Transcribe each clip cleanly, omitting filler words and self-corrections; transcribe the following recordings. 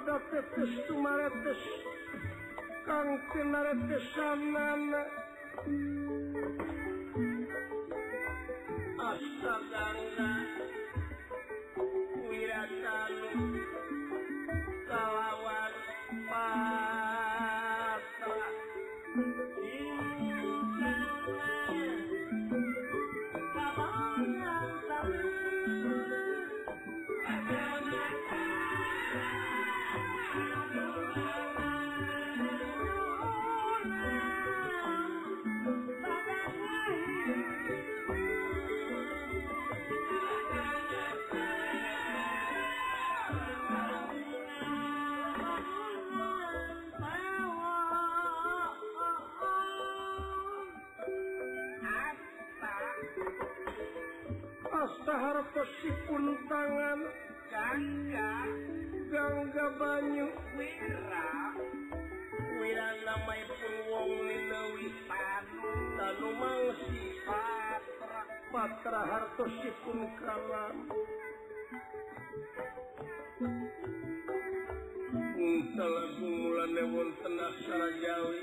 pada tetes tumaretes kang tinaretesanana astagangga wiratanu kalawan patra hartosipun tangan gangga banyu wira namaipun wong ninawi tanu mangsi patra hartosipun kalam talagu mulane wonten aksara Jawi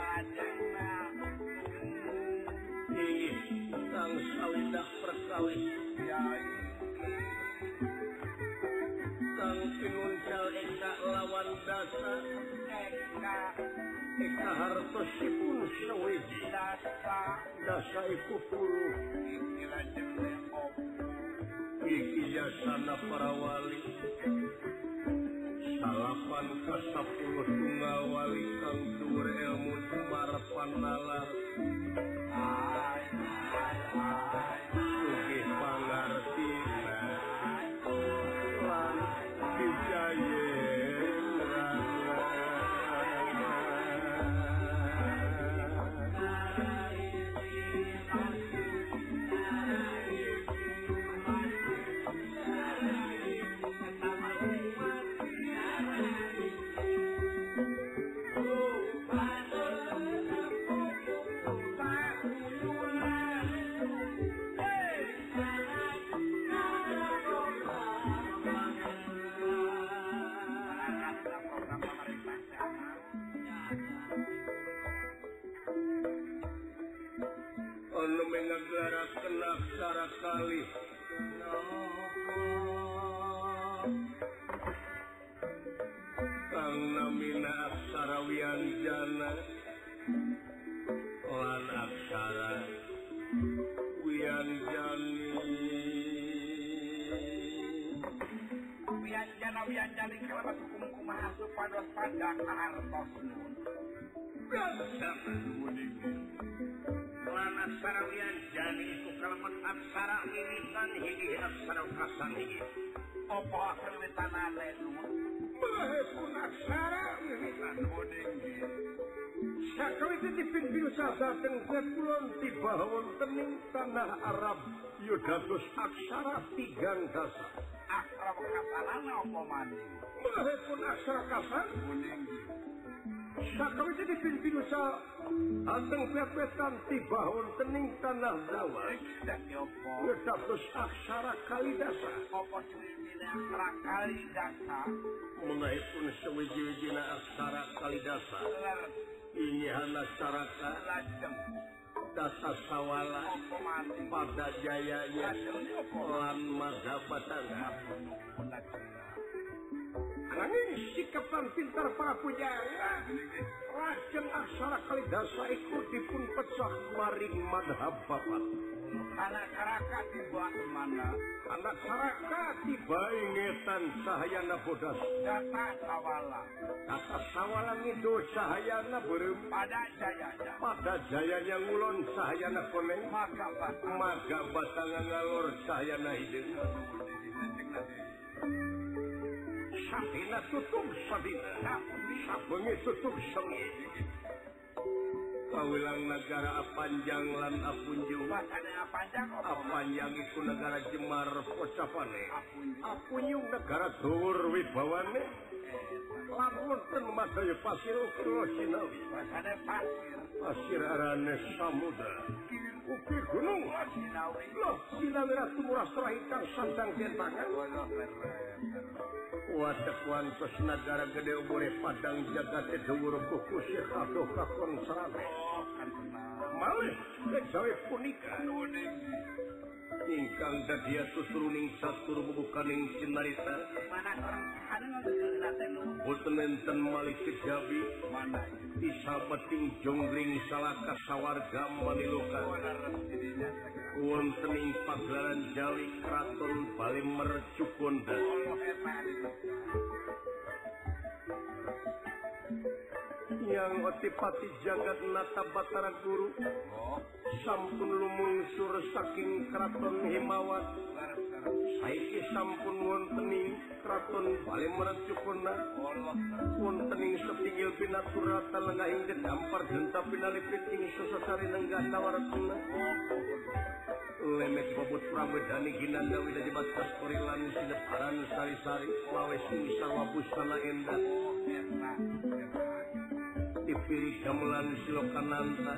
sang sawidak perkawis sang pinuncal eka lawan dasa eka hartosipun sawiji dasa iku puluh iki jasana para wali salapan ka 10 tunggal wali kang dhuwur ilmu tumarapan nalar sugih pangartina lan wijayendrana menggarakan aksara kali kang namina aksara wianjana lan aksara wianjani wianjani kalawan hukum kumaha supados pandang hartos nun lan aksara wianjani itu kalawan aksara wiwitan higi aksara kasan higi opo aksara wiwitan ale nun bahipun aksara wiwitan bodeng sakawiti dipinpin sasaten kulon tiba wontening tanah Arab yudados aksara 3 dasa aksara kasanana opo maning bahipun aksara kasan bodeng sakawiti dipinpin sasaten pepetan tiba wontening tanah Jawa yudados aksara kalidasa opo cuwine aksara kalidasa mengaipun sewiji-wijina aksara kalidasa ini aksaraka dasa sawala pada jayanya lan madhabatana angin sikapan pintar para pujangga lajeng aksara kalidasa iku dipun pecah maring madhab bapat anak saraka tiba mana anak saraka tiba ingetan sahayana bodas data sawala ngidul sahayana berem pada jayanya ngulon sahayana koneng maga batangan ngalor sahayana hideung sabina tutup sabina sabengi tutup sengi kawilang negara Apanjang lan Apunjung Apanjang iku negara Jemar Pocapane Apunjung negara Dhuwur Wibawane lan wonten madaya pasir ukra sinawi pasir arane samudra Ugi gunung loh sinawi ratu murasrah ingkang sandang dentangan wadah wantos nagara gede umure padang jagat dhuwur kuku sihado kakon sarane malih kejawe punika ingkang dadi tuturuning satur bubukaning cinarita boten enten malih kejawi disabeting jonggring salaka sawarga maniluka wontening pagelaran Jawi Kraton Bali Mercukonda yang otipati jagat nata Batara Guru sampun lumungsur saking Kraton Himawat saiki sampun wontening Kraton Bali Mercukonda wontening setinggil pinaturata lengahing dedampar genta pinalipiting sesasari nengganda waratuna lemek bobot pramedani ginanda widadi batas korilan sineparan sari-sari wawes sarwa busana endah dipilih gamelan silokananta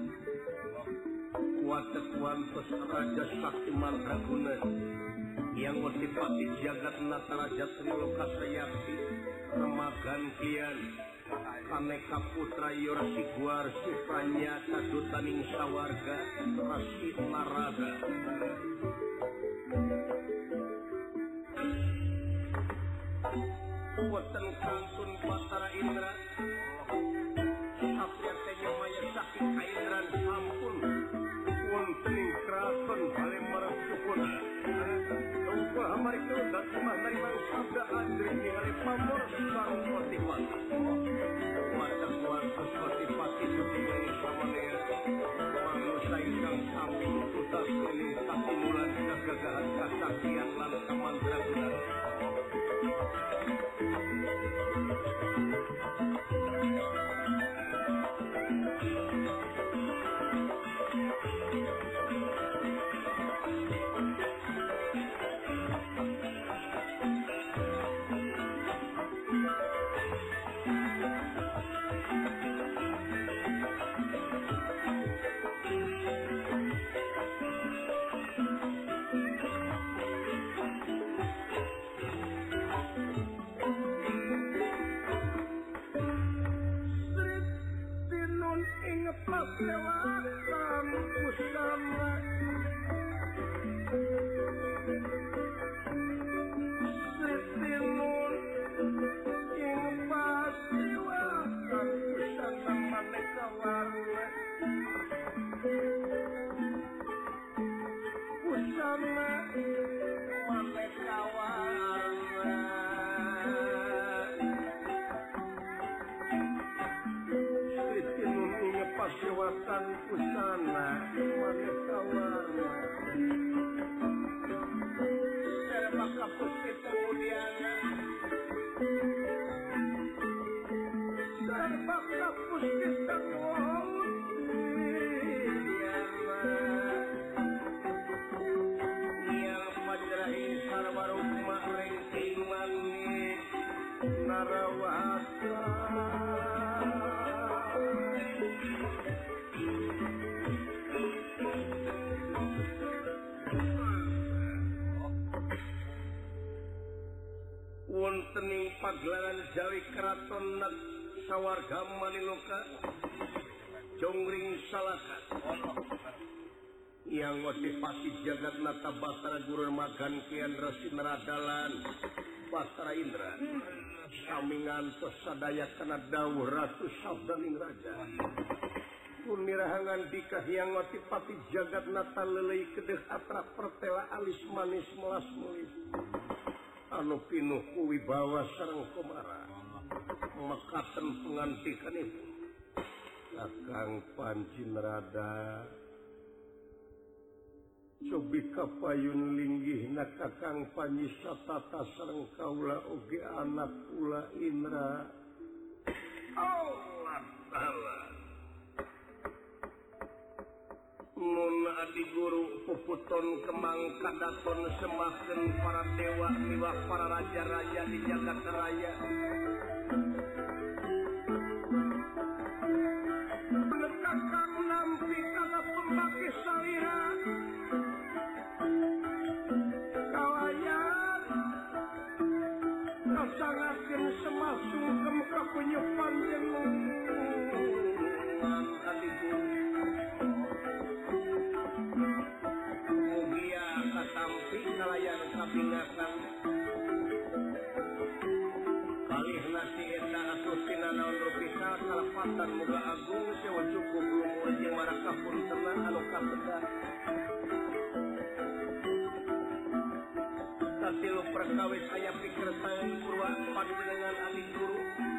kuatet wantos raja sakti mandraguna yang motipati jagat nata raja Triloka Sayakti remagan kian kaneka putra yorsi guar sifranya kadutaning sawarga rasi narada wonten kantun Batara Indra sapriatenya maya saking kaindran sampun wontening Kraton Bali Mercukonda uga hamarika datmah narimang sabda andri ningali pamor sareng Patipati wadah wantos Patipati sutingali samanea manusa ingkang sami tutas keliling katimulan kegagahan kasaktian lan kamandraguna lewatan pusana setinun ing pasti lewatan pusana maneka warna pusana maneka warna pasewatan pusana maneka warna serba kapusti pemudiana serba kapusti pemudiana yang majrahi sarwarukma rengking mani narawasa wontening pagelaran Jawi Kraton sawarga maniloka jongring salaka yang motivasi jagat nata Batara Guru magan kian resi neradalan Batara Indra sami ngantos sadaya kana dawuh Ratu Sabdaning Raja punirahangan dikah yang motivasi jagat nata lelei kedeh atra pertela alis manis melas mulis anu pinuh wibawa sareng komara mekaten pengantikanipun Kakang Panji Nerada cobi kapayun linggihna Kakang Panji satata sareng kaula oge anak kula Indra Allah Ta'ala nun adi guru puputon kemang kadaton semahkeun para dewa miwah para raja-raja di jagat raya Kakang nampi kana pembaki sali kabingasan kalih nasi eta atuh tina naon rupika kalepatan muga agung sewa cukup lumur jeung marakapun tenang anu kasedah katilu perkawis aya pikersaan purwa panjenengan adi guru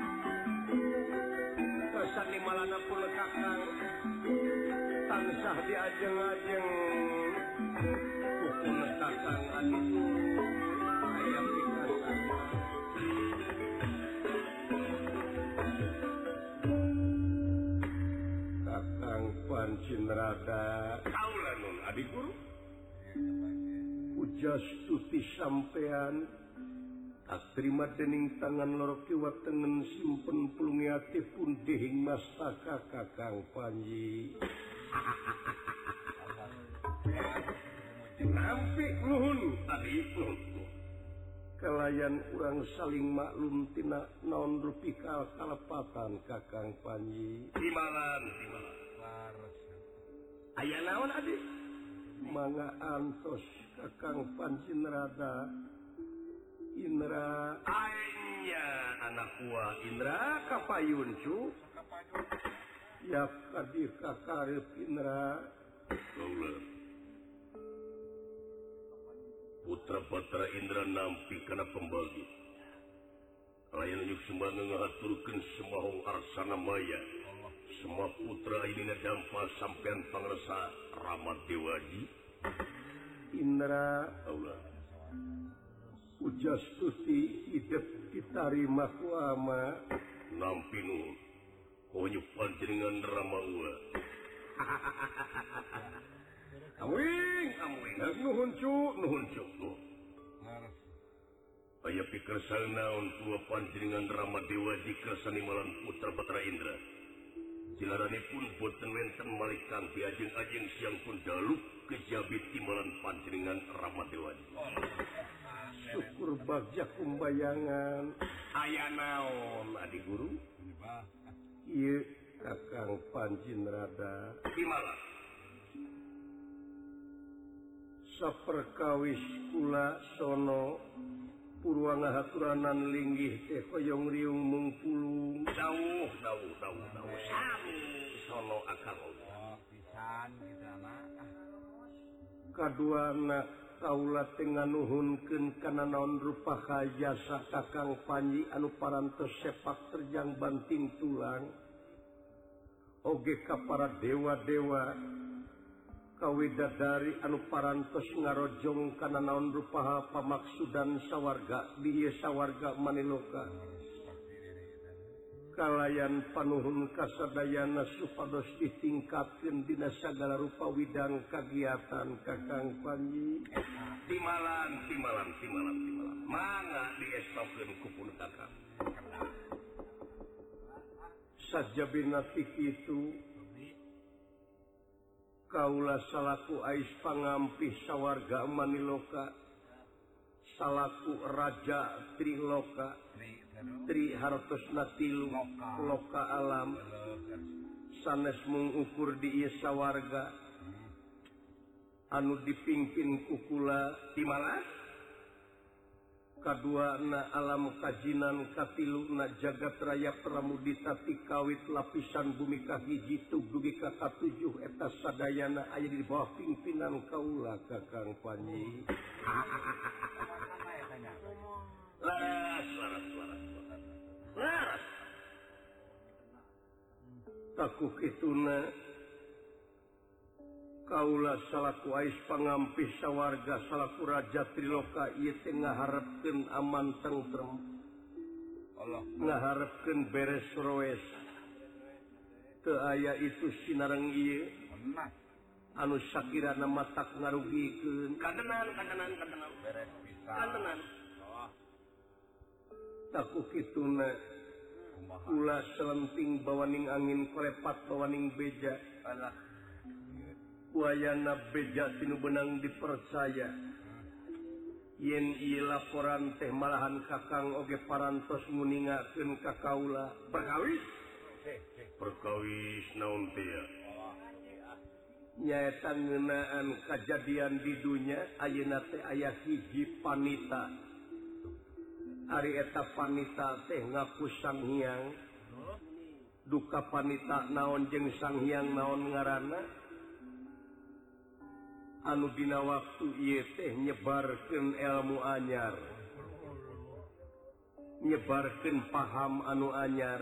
kesan di malana pun kakang tansah diajeng-ajeng pukul kakang adi guru aya pikersaan kakang Pancinrada kaula nun adi guru ujas tuti sampean tak terima dening tangan loro kiwa tengen simpen pulungi ati pun dihing mastaka kakang Panji nampi nuhun adi nuhun kalayan urang saling maklum tina naon rupika kalepatan kakang Panji timalan aya naon adi mangga antos kakang Pancinrada Indra aya anak gua Indra kapayun cu ya kadir kakarep Indra putra-putra Indra nampi kana pembagi layan yuk sembah ngahaturkeun semahong arsana maya semua putra ini ngadampa sampean pangresa Rama Dewaji Indra Allah ujas tuti hidup ditarima ku ama nampi nuhun konyu panjenengan Rama ula amwing nuhun cu aya pikersaan naon tua panjenengan Rama Dewaji kersani malan putra Patra Indra jilaranipun boten wenten malikan di ajeng-ajeng siang pun daluk kejabit timbalan panjenengan Rama Dewaji syukur bagja kumbayangan aya naon adi guru ieu kakang Pancinrada dimana saperkawis kula sono purwa ngahaturanan linggih teh koyong riung mungpulung dawuh sami sono akang pisan kitana kaduana kaula teh nganuhunkeun kana naon rupa jasa kakang Panji anu parantos sepak terjang banting tulang oge ka para dewa-dewa kawidadari anu parantos ngarojong kana naon rupa pamaksudan sawarga di ieu sawarga Maniloka kalayan panuhun kasadayana supados ditingkatkeun dina sagala rupa widang kagiatan kakang Panji timalan mangga diestopkeun ku pun kakang sajabina ti kitu kaula salaku ais pangampih sawarga Maniloka salaku raja Triloka Tri hartosna tilu loka alam sanes mengukur di ieu sawarga anu dipingpin ku kula timala kaduana alam kajinan katiluna jagat raya pramudita ti kawit lapisan bumi kahiji dugi ka katujuh eta sadayana aya di bawah pimpinan kaula kakang Panji laras takuh kituna kaula salaku ais pangampih sawarga salaku raja Triloka ieu teh ngaharepkeun aman tentrem ngaharepkeun beres roes teu aya itu sinareng ieu anu sakirana matak ngarugikeun kandenan beres pisan takuh kituna kula selenting bawaning angin kolepat bawaning beja wayana beja tinu benang dipercaya yen ieu laporan teh malahan kakang oge parantos nguningakeun ka kaula perkawis naon teh nyaeta ngeunaan kejadian di dunia ayeuna teh aya hiji panita ari eta panita teh ngaku Sang Hyang duka panita naon jeung Sang Hyang naon ngaranna anu dina waktu ieu teh nyebarkeun ilmu anyar nyebarkeun paham anu anyar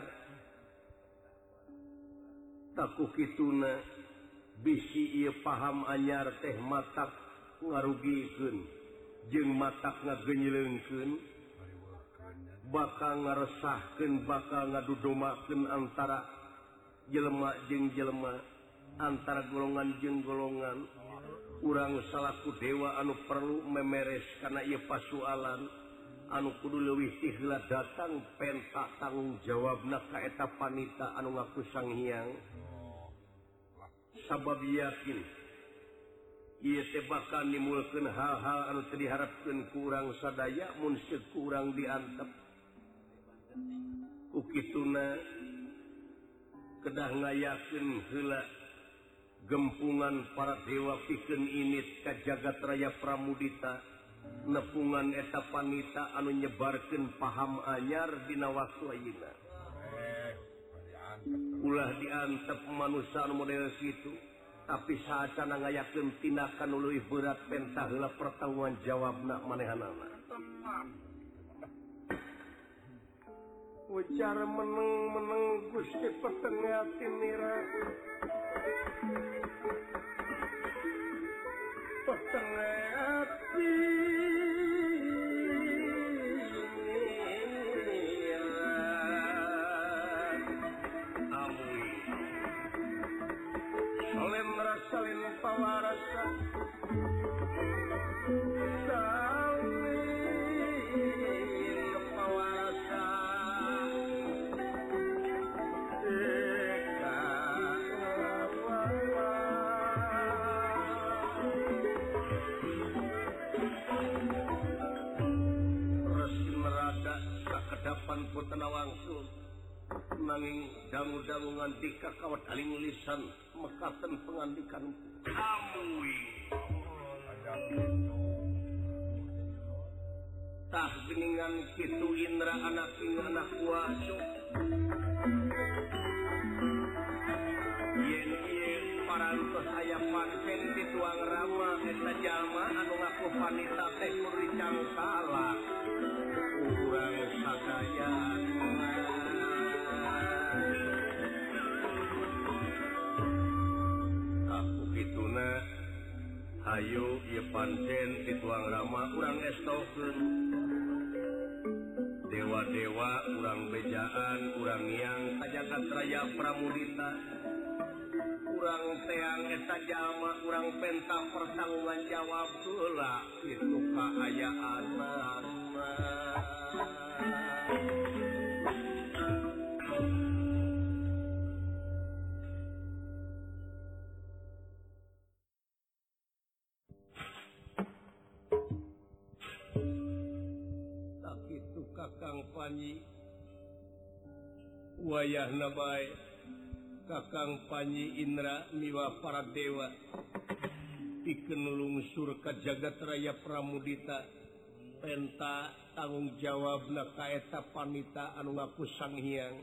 taku kituna bisi ieu paham anyar teh matak ngarugikeun jeung matak ngagenyeleungkeun bakal ngaresahkeun bakal ngadudomakeun antara jelema jeung jelema antara golongan jeung golongan urang salaku dewa anu perlu memeres kana ieu pasualan anu kudu leuwih ti heula datang penta tanggung jawabna ka eta panita anu ngaku Sang Hyang sabab yakin ieu teh bakal nimulkeun hal-hal anu teu diharapkeun ku urang sadaya mun ceuk ku urang diantep ukituna kedah ngayakeun heula gempungan para dewa pikeun init ka jagat raya Pramudita nepungan eta panita anu nyebarkeun paham anyar dina waktu ayeuna ulah diantep manusia anu model kitu tapi saacana ngayakeun tindakan nu leuwih berat pentah heula pertanggungan jawabna manehanana ujar meneng Gusti petengah tinira petengah hati amui solen rasalin pawarasa putana wangsul nanging dangu-dangu nganti ka kawat aling lisan mekaten pengandikan amui tah geningan kitu Indra anak anak kuaso yen ieu parantos aya pancen dituang rama eta jalma anu ngaku panita teh kuricang salah urang sadaya aku kituna hayu ieu pancen dituang rama urang estokeun dewa-dewa urang bejaan urang yang kajagat raya Pramudita urang teang eta jalma urang penta pertanggungan jawab heula kitu kaayaanna tak itu Kakang Panji wayahna bae Kakang Panji Indra miwa para dewa pikeun lungsur ka jagat raya Pramudita penta tanggung jawabna ka eta panita anu ngaku Sang Hyang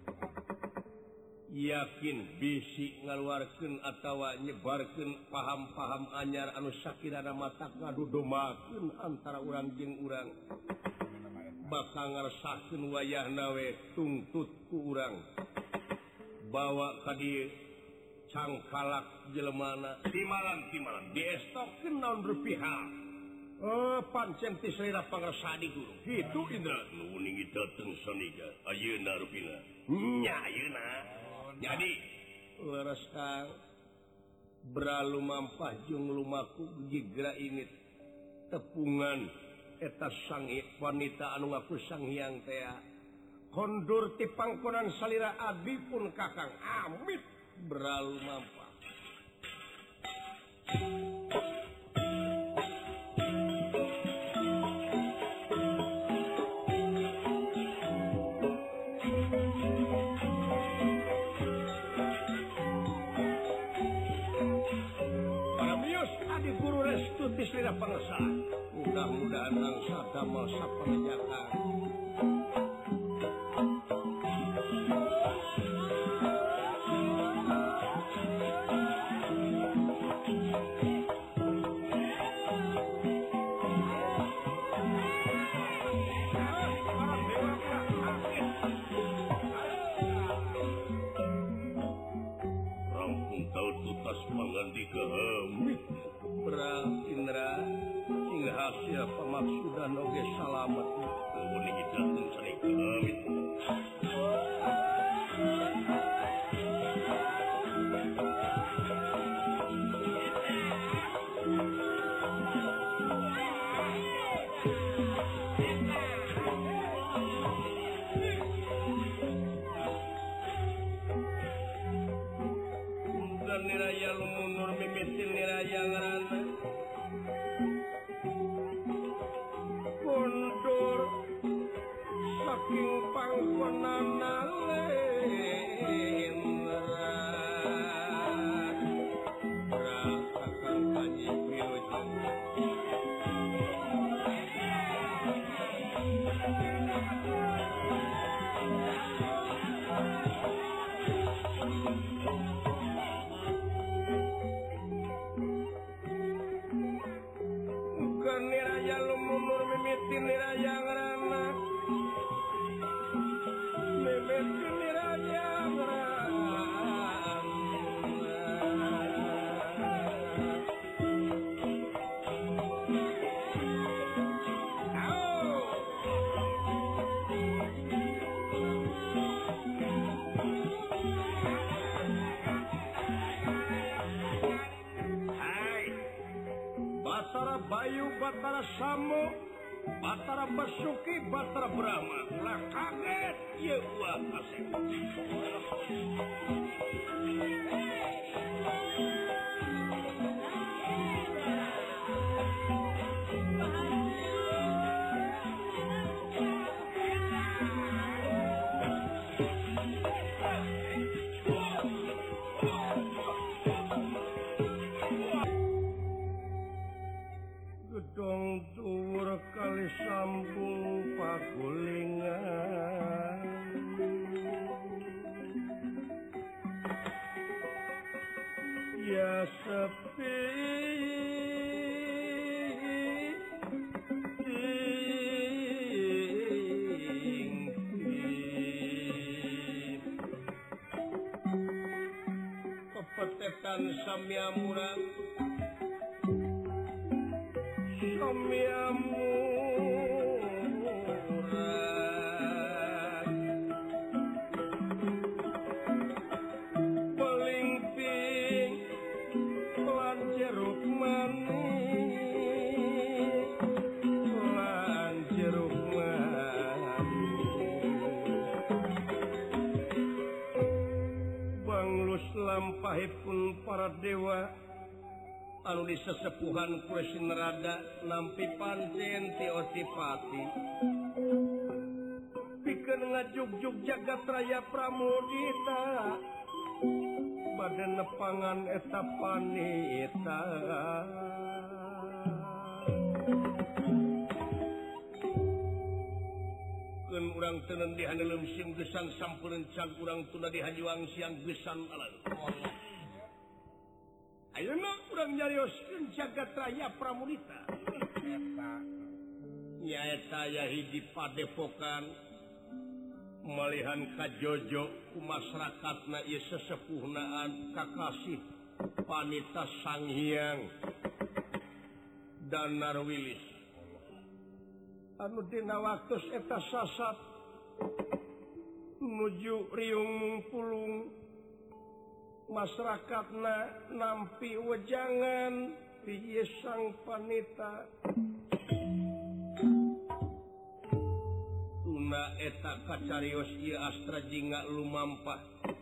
yakin bisi ngaluarkeun atawa nyebarkeun paham-paham anyar anu sakirana matak ngadudomakeun antara urang jeung urang bakal ngaresahkeun wayahna we tungtut ku urang bawa ka dieu cangkalak jelemana timalan diestokeun naon rupiah pancen ti selera pangrasani guru kitu Indra nuning dateng saniga ayeuna rupina nya ayeuna jadi leres Kang bralu mampah jeung lumaku jigra init tepungan eta sang wanita anu ngaku Sang Hyang teh kondur ti pangkonan salira abdi pun Kakang amit bralu mampah Adi Guru restu ti Slira Pangesa. Mudah-mudahan angsa damel sapanjakan. Indra sing hasil pemaksudan oge salamet nuhun hidayah sari kehamit dan niraya lumunur mimitin niraya ngarana mundur saking pangkonana rasakan kanyi wilujeng niraya lumunur mimitin niraya ngarana mimitin niraya ngarana Batara Bayu, Batara Samo, Batara Basuki, Batara Brahma. Ulah kaget, ya ulah asik. Gedong dhuwur kali sambung pagulingan ya sepi pepetetan samyamurang pelingping lan jeruk manis banglus lampahipun para dewa anu disesepuhan Kursi Nerada nampi pancen ti Otipati pikeun ngajugjug jagat raya pramudita bade nepangan eta panita keun urang teu di handeuleum sim gesan sampeureun cag urang tunda di hajuang siang gesan alan ayeuna urang nyarioskeun jagat raya pramudita nyaeta aya hiji padepokan malihan kajojo ku masyarakatna ieu sesepuhnaan kakasih panita Sanghyang Danar Wilis anu dina waktos eta sasat nuju riung pulung masyarakatna nampi wejangan ti sang panita tuna eta kacarios ieu astra jingga lumampah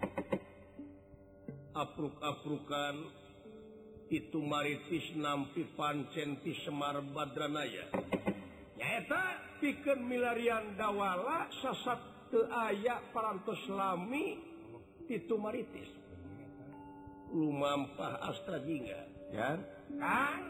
apruk-aprukan itu maritis nampi pancen ti Semar Badranaya nyaeta pikeun milarian dawala sasat teu aya parantos lami ti maritis lumampah astra jingga Ya. Kang.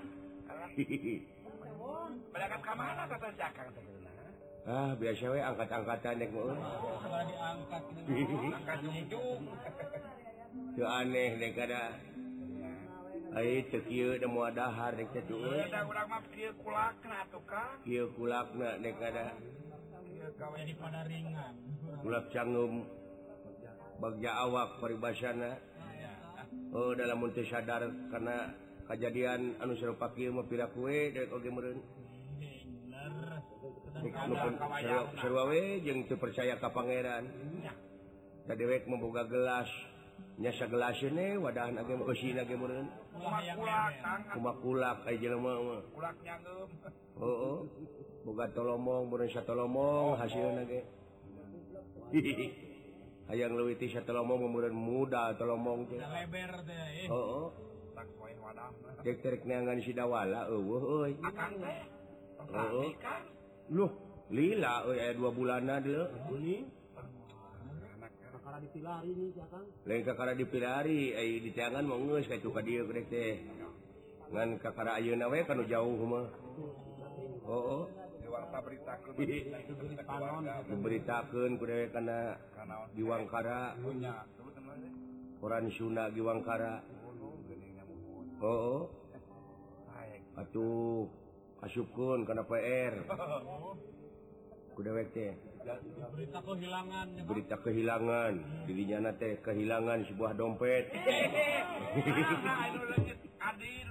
Berangkat ke mana kata si Akang teh? Biasa we angkat-angkatan nek meuh. Diangkat gitu. Angkat jungjung. Teu aneh nek kada. Ai teu kieu da moal dahar nek teh tuh. Da urang mah kieu kulakna atuh Kang. Kieu kulakna nek kada. Kieu gawe di pada ringan. Kulak cangeum bagja awak paribasana. Oh dalam mun teu sadar karena kejadian anu sarupa kieu mah piraku we dek oge meureun. Sarua we jeung teu percaya ka pangeran. Da dewek memboga gelas. Nya sagelasna wadahan age eusina ge meureun. Kumaha kulak aya jelema mah. Kulak nyangeum. Heeh. Boga tolomong, meureun satolomong hasilna ge. Hayang leuwih ti satolomong meureun muda tolomong teh. Leber teh. Heeh. Tak poe wadahna. Dek terek neangan si dawala eueuh euy. Akang teh. Heeh. Loh, lila euy aya 2 bulanna deuleu. Kuning. Kakara dipilari nih Akang. Lain kakara dipilari, ai di tangan mah geus ka itu ka dieu kedek teh. Ngan kakara ayeuna we kanu jauh mah. Heeh. Diwarta beritakeun Diberitakeun ku dewek kana Giwangkara. punya. Sebutan teh. Koran Sunda Giwangkara. Heeh. Atuh asupkeun kana PR. Ku dewek teh. Berita kehilangan. Berita kehilangan. Dirinya teh kehilangan sebuah dompet. Anu leungit adil.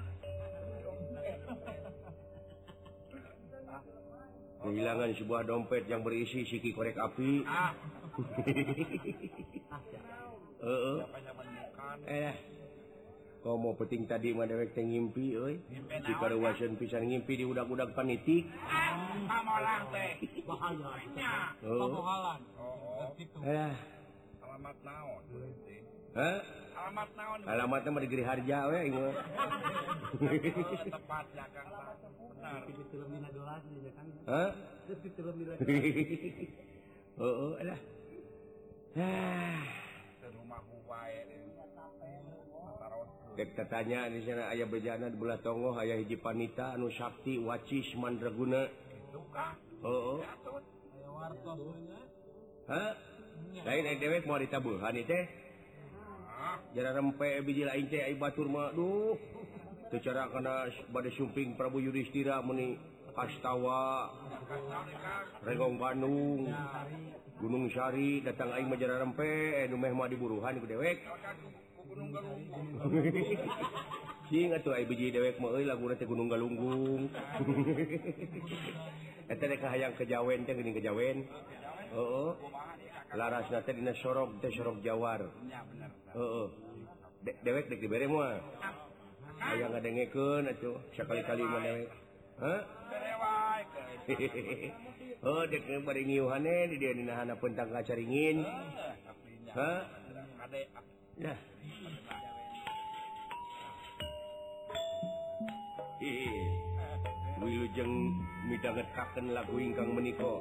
Kehilangan sebuah dompet yang berisi siki korek api. Heeh. Kau mau peting tadi mah dewek teh ngimpi euy. Di karuwaseun pisan ngimpi di udag-udag panitik. Pamolang teh. Bahaya. Pamohalan. Alamat naon? Hah? Alamat naon? Alamatnya mah di Giri Harja we ieu. Tepatnya Kang. Benar. Di film dina dolas nya Kang. Hah? Terus di film dina. Heeh, alah. Rumah wae. Dek tatanya di sana aya bejana di belah tongoh aya hiji panita anu sakti wacis mandraguna. Kitu Kang. Heeh. Aya wartos nya. Hah? Lain dewek mau ditabuhan ieu teh. Jara rempe biji lain teh ai batur mah duh. Teu cara kana bade sumping Prabu Yudhistira muni Kastawa. Regong Bandung. Gunung Sari datang aing mah jara rempe nu meh mah diburuhan ku dewek. Gunung Galunggung. Sing atuh ai biji dewek mah euy laguna teh Gunung Galunggung. Eta teh hayang kejawen teh geuning kejawen. Heeh. Larasna teh dina sorog teh sorog Jawar. Nya bener. Heeh. Dewek dek dibere moal. Hayang ngadengekeun atuh sakali-kali mah dewek. Hah? Bere wae. Oh dek bari ngiuhane di dieu dina hana pentang kacaringin. Hah? Ade. Nah. Wilujeng midangetaken lagu ingkang menika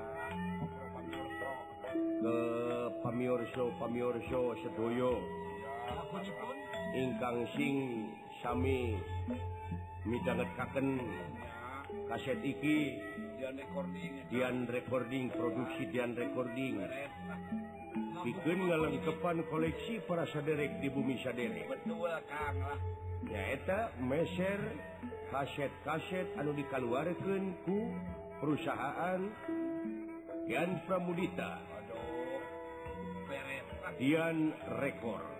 ke pamiorso sedaya ingkang sing sami midangetaken kaset iki Dian Recording produksi Dian Recording pikeun ngalengkepan koleksi para saderek di bumi saderek. Betul Kang lah. Nyaeta meser kaset-kaset anu dikaluarkeun ku perusahaan Dian Pramudita. Aduh. Beres. Dian Record.